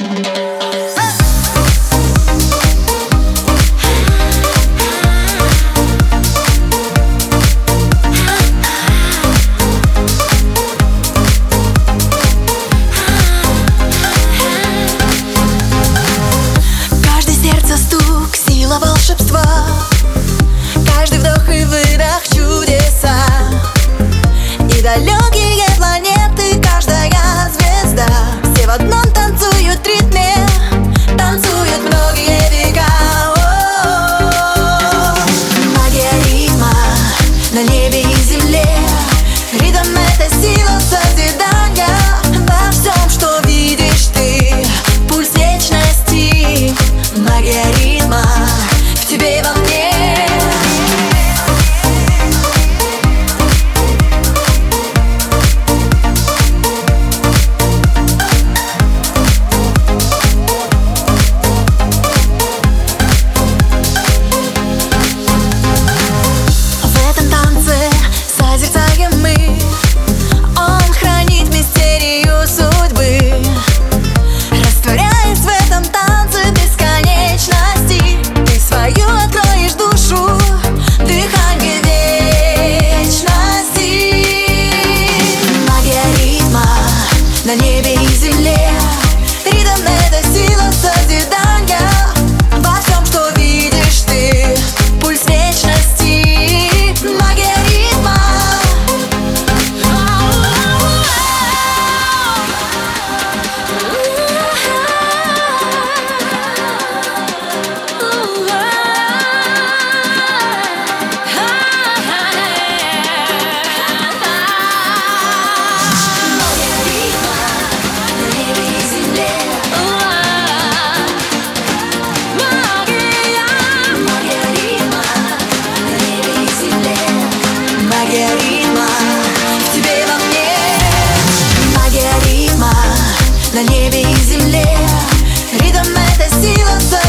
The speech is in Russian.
Волшебства, каждый вдох и выдох чудеса, и далекие планеты, каждая звезда, все в одном танцуют ритме, танцуют многие века. Магия ритма на небе и земле, ритм — это сила созидания. Во всем, что видишь ты, пульс вечности. Магия ритма в тебе и во мне. В этом танце созерцаем мы, он хранит мистерию судьбы, растворяясь в этом танце бесконечности. Ты свою откроешь душу, дыхание вечности. Магия ритма на небе и земле, ритм — это сила созидания. Во всем, что видишь ты, пульс вечности. Магия ритма. Магия ритма в тебе и во мне. Магия ритма на небе и земле, ритм — это сила.